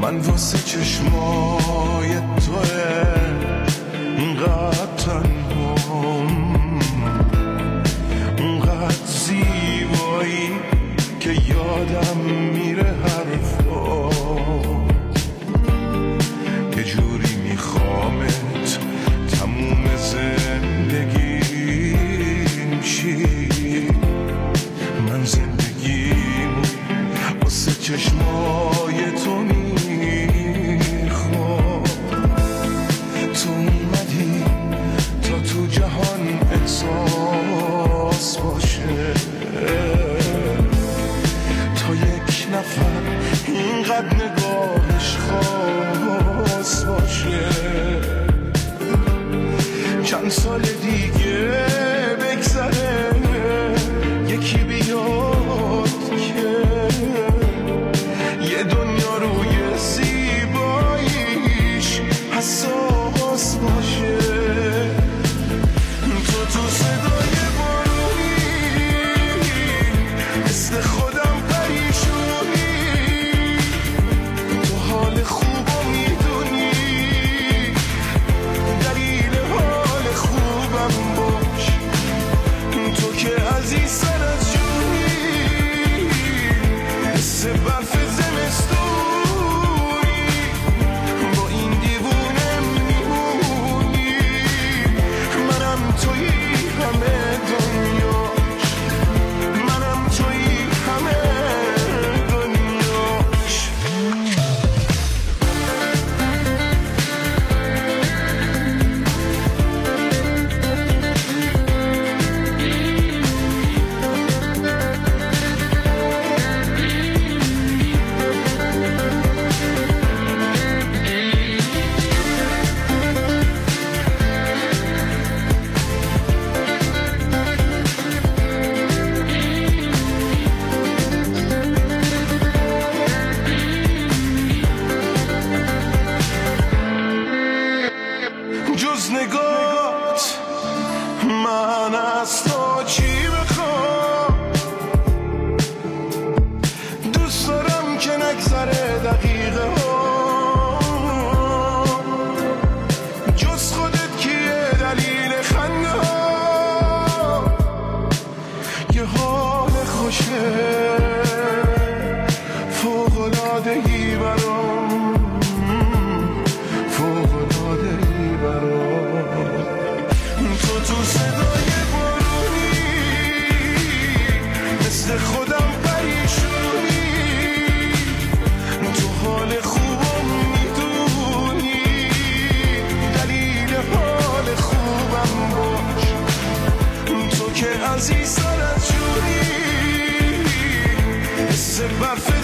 من واسه چشمای توه اینقدر تنهام، اونقدر زیبایی که یادم میره حرفات، یه جوری میخوامت تموم زندگیم شی. من زندگیمو واسه چشمای تو میخوام، تو اومدی تا تو جهان احساس باشه، تا یک نفر اینقدر نگاهش خاص باشه. چند سال دیگه بگذره یکی بیاد که یه دنیا روی زیباییش حساس باشه. تو صدای بارونی مثل خودم پریشونی، تو حال خوبو میدونی، دلیل حال خوبم باش. تو که عزیز سر از جونی، مثل برف زمستونی، با این دیوونه میمونی. منم تویی همه دنیاش، منم تویی همه دنیاش. جز نگات من از تو چی بخوام؟ دوست دارم که نگذره دقیقه ها، جز خودت کیه دلیل خنده ها؟ یه حال خوشه فوق‌العاده‌ای برام، فوق‌العاده‌ای برام. تو صدای بارونی مثل خودم پریشونی، تو حال خوبم میدونی، دلیل حال خوبم باش. تو که عزیز سر از جونی، مثل برف